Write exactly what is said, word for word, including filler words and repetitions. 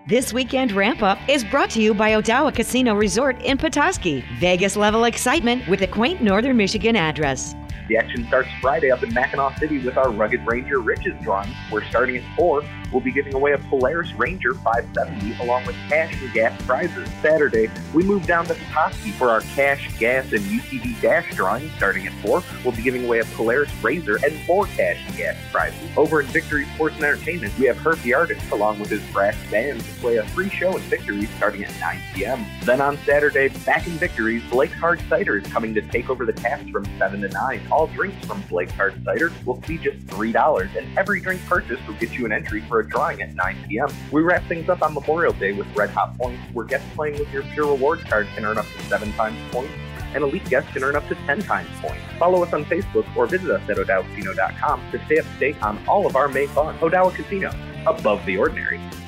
This weekend ramp-up is brought to you by Odawa Casino Resort in Petoskey. Vegas-level excitement with a quaint Northern Michigan address. The action starts Friday up in Mackinac City with our Rugged Ranger Riches drawing. We're starting at four. We'll be giving away a Polaris Ranger five seventy along with cash and gas prizes. Saturday, we move down to Petoskey for our cash, gas, and U T V dash drawing. Starting at four, we'll be giving away a Polaris Razor and more cash and gas prizes. Over in Victory Sports and Entertainment, we have Herb the Artist along with his brass band to play a free show in Victory starting at nine p.m. Then on Saturday, back in Victory, Blake's Hard Cider is coming to take over the taps from seven to nine. All drinks from Blake's Hard Cider will be just three dollars, and every drink purchased will get you an entry for a drawing at nine p.m. We wrap things up on Memorial Day with Red Hot Points, where guests playing with your Pure Rewards card can earn up to seven times points, and elite guests can earn up to ten times points. Follow us on Facebook or visit us at odawa casino dot com to stay up to date on all of our May fun. Odawa Casino, above the ordinary.